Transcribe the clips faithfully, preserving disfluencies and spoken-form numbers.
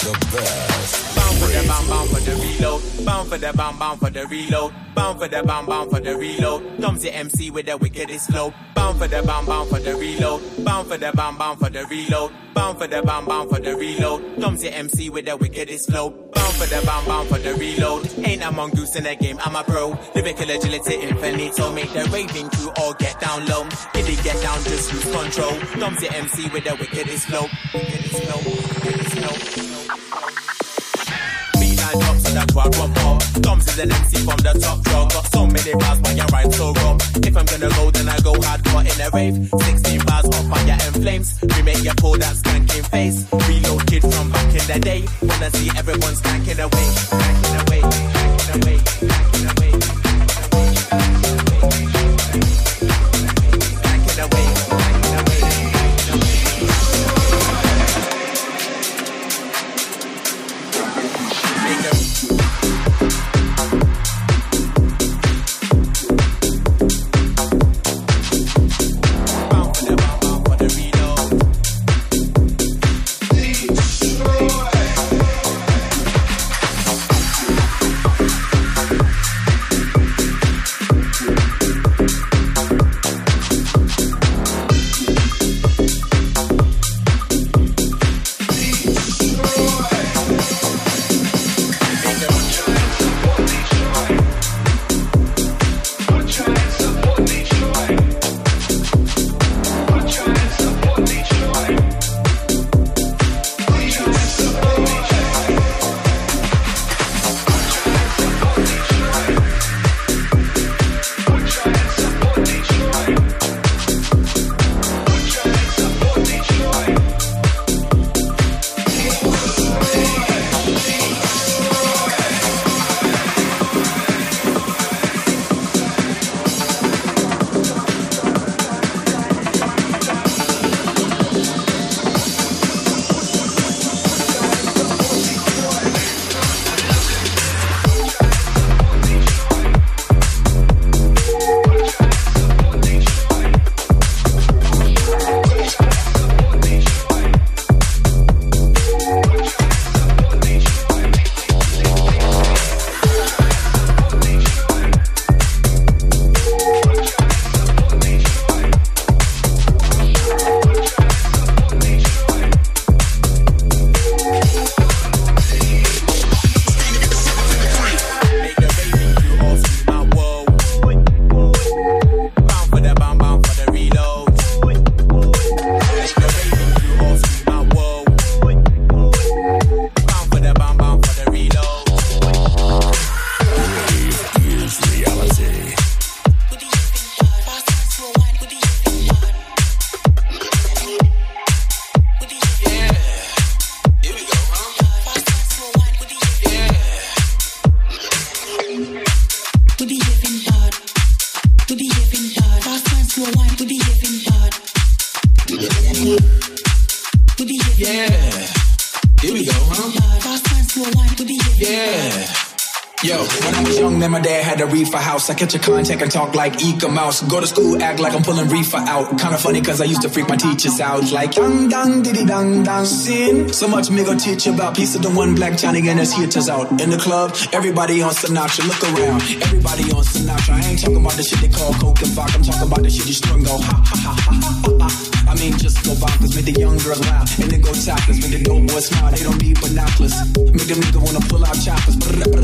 the best. Bound for the bound, bound for the reload. Bound for the bound, bound for the reload. Bound for the bound, bound for the reload. Comes the M C with the wickedest flow. Bound for the bound, bound for the reload. Bound for the bound, bound for the reload. Bound for the bound, bound for the reload. Comes the M C with the wickedest flow. Bound for the bound, bound for the reload. Ain't a mongoose in the game, I'm a pro. Lyrical agility infinito. Make the raving crew all get down low. If they get down, just lose control. Comes the M C with the wickedest flow. Wickedest flow, wickedest flow. Drop so that's why I want more. Comes as an M C from the top draw. Got so many bars, why you ride so raw? If I'm gonna go, then I go hardcore in a rave. sixteen bars on fire and flames. We make you pull that skanking face. Reload kid from back in the day. Wanna see everyone skanking away, skanking away, skanking away, skanking away, skanking away, skanking away, skanking away. I catch a contact and talk like Eka Mouse. Go to school, act like I'm pulling reefer out. Kinda funny cause I used to freak my teachers out. Like dang dang diddy dang dang sin. So much me go teach you about. Piece of the one black Johnny and his hitters out. In the club, everybody on Sinatra. Look around, everybody on Sinatra. I ain't talking about the shit they call coke and vodka. I'm talking about the shit you strung go ha ha ha ha ha ha. I mean just go bonkers, make the young girls laugh. And then go topless, make the dope boys smile. They don't need binoculars. Make them nigga wanna pull out choppers.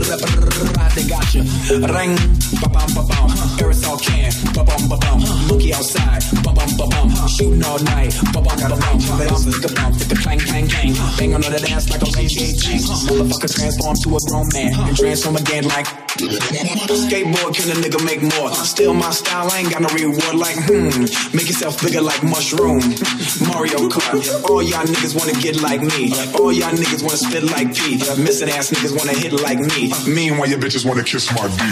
They got you. Ring, ba-bum, ba-bum. Aerosol can, ba-bum, ba-bum. Monkey outside, ba-bum, ba-bum. Shooting all night, ba-bum, ba-bum. Bump, stick a bump, stick a clang, clang, clang. Bang on the dance like a P G A chain. Motherfucker transform to a grown man and transform again like skateboard. Can a nigga make more? Still my style, I ain't got no reward. Like hmm, make yourself bigger like mushroom. Mario Kart. All y'all niggas wanna get like me. All y'all niggas wanna spit like P. Missing ass niggas wanna hit like me. Meanwhile your bitches wanna kiss my D.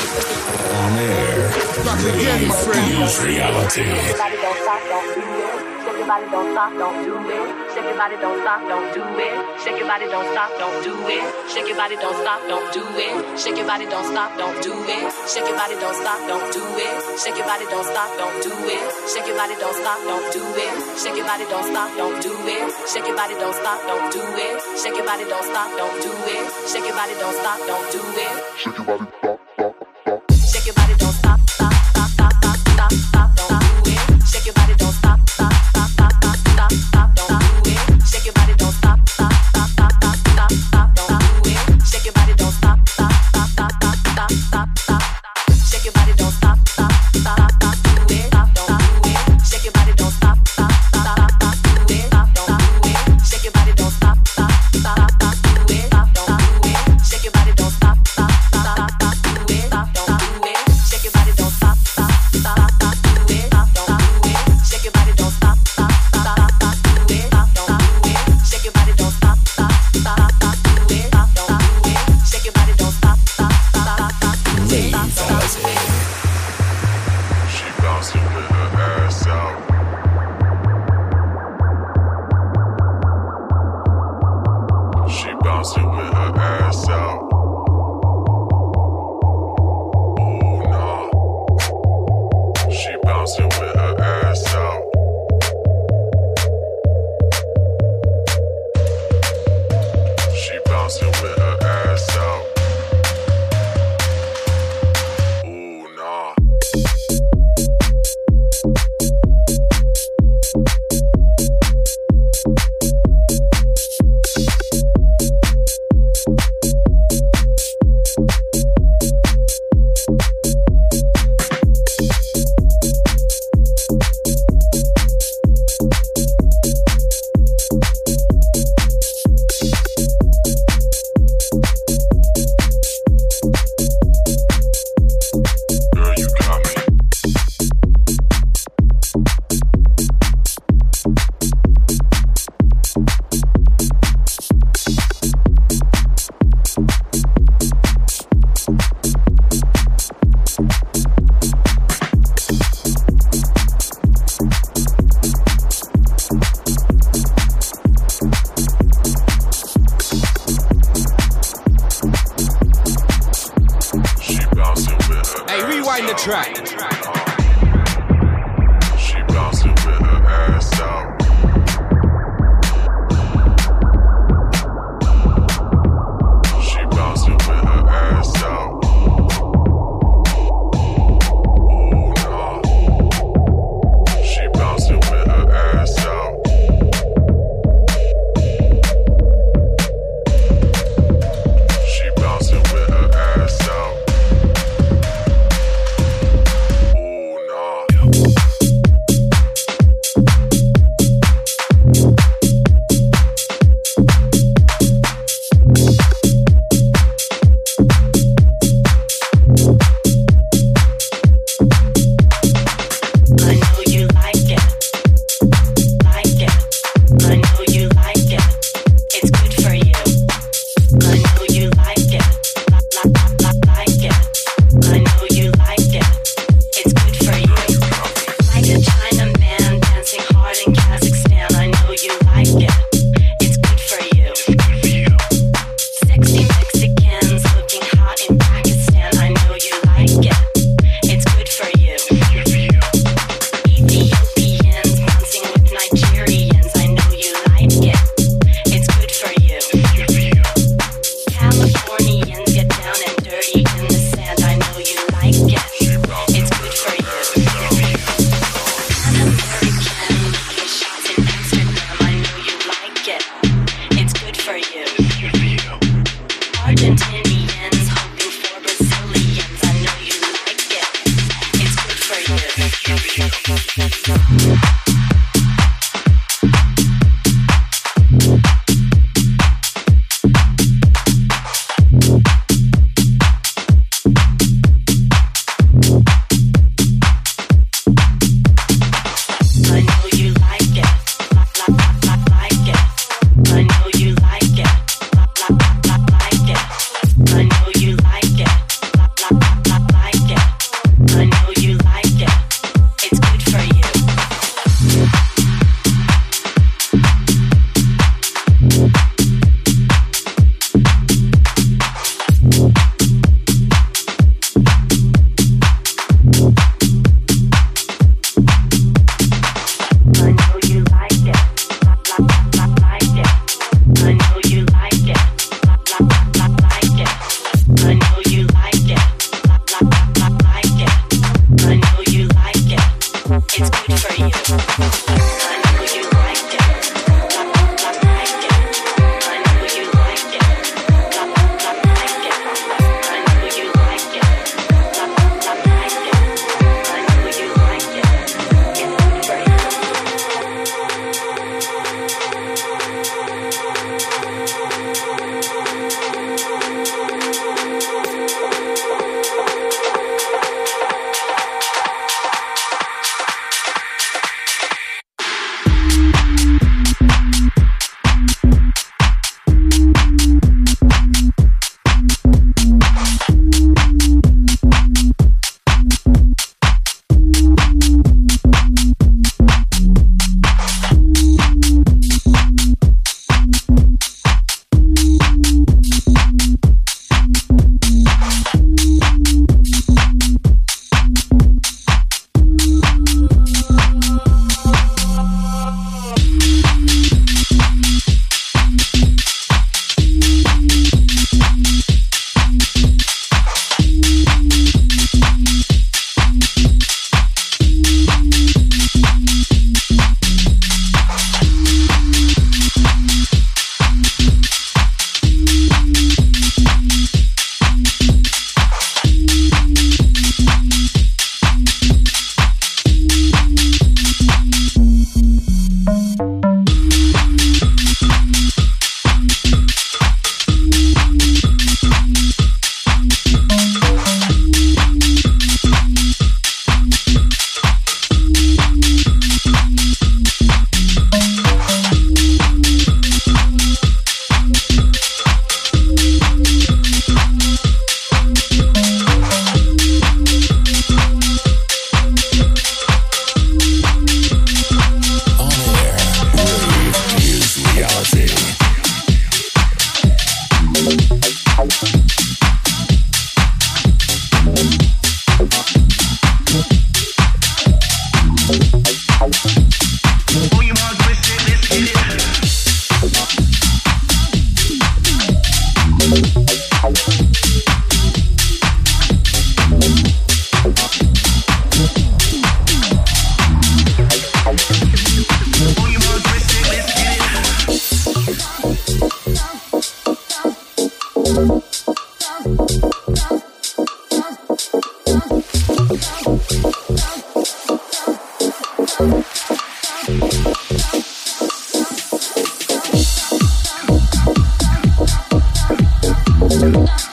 On air. Again, my friend. Use reality. Everybody don't stop, don't do it. Shake your body, don't stop, don't do it. Shake your body, don't stop, don't do it. Shake your body, don't stop, don't do it. Shake your body, don't stop, don't do it. Shake your body, don't stop, don't do it. Shake your body, don't stop, don't do it. Shake your body, don't stop, don't do it. Shake your body, don't stop, don't do it. Shake your body, don't stop, don't do it. Shake your body, don't stop, don't do it. Shake your body, don't stop, don't do it. Shake your body, don't stop, don't do it. Shake your body, stop, stop, stop. Shake your body, don't stop, stop, stop, stop, stop, stop, stop, don't do it. Shake your body, don't stop, stop, stop, stop, stop, stop, stop, don't do it. Shake your body, don't stop, stop, stop, stop, stop, stop, stop, don't do it. Shake your body, don't stop, stop, stop, stop, stop, stop, stop, stop. Shake your body, don't stop, stop, stop, stop, do it, stop, don't do it. Shake your body, don't stop, stop, stop, stop, do it, stop, don't do it. Shake your body, don't stop, stop, stop, stop, do it, stop, don't do it. Shake your body, don't stop, stop, stop, stop, do it, stop, don't do it. Shake your body, don't stop, stop, stop, stop, do it, stop, don't do it. Shake your body, don't stop, stop, stop, stop, do it, stop, don't do it. Shake your body, don't stop, stop, stop, stop, do it, stop, don't do it. Shake your body, don't stop, stop, stop, stop, do it, stop, don't do it. She bouncing with her ass out. She bouncing with her ass out. Ooh, nah. She bouncing with her ass out. She bouncing with her ass out. Ooh, nah. Girl, you got me. She bouncing with her Hey, ass rewind the out. track. She bouncing with her ass out. She bouncing with her ass out. Ooh, nah. She bouncing with her ass out. She bouncing with her ass out. Ooh, nah. I know you like it, like it. I know you like it. It's good for you. I know you like it, like, like, like, like it. I know you like it. It's good for you. Like a Chinaman dancing hard in Kazakhstan. I know you like it. It's good for you. Sexy Mexicans looking hot in Pakistan. I know you like it. It's good for you. Ethiopians dancing with Nigerians. I know you like it. It's good for you. Californians get down and dirty in the sand. I know you like it. It's good for you. An American making shots in Amsterdam. I know you like it. It's good for you. Argentinians hoping for Brazilians. I know you like it. It's good for you. I know you like it, like, like, like, like, like it. I know you like it, like, like, like, like, like it. We'll be right back.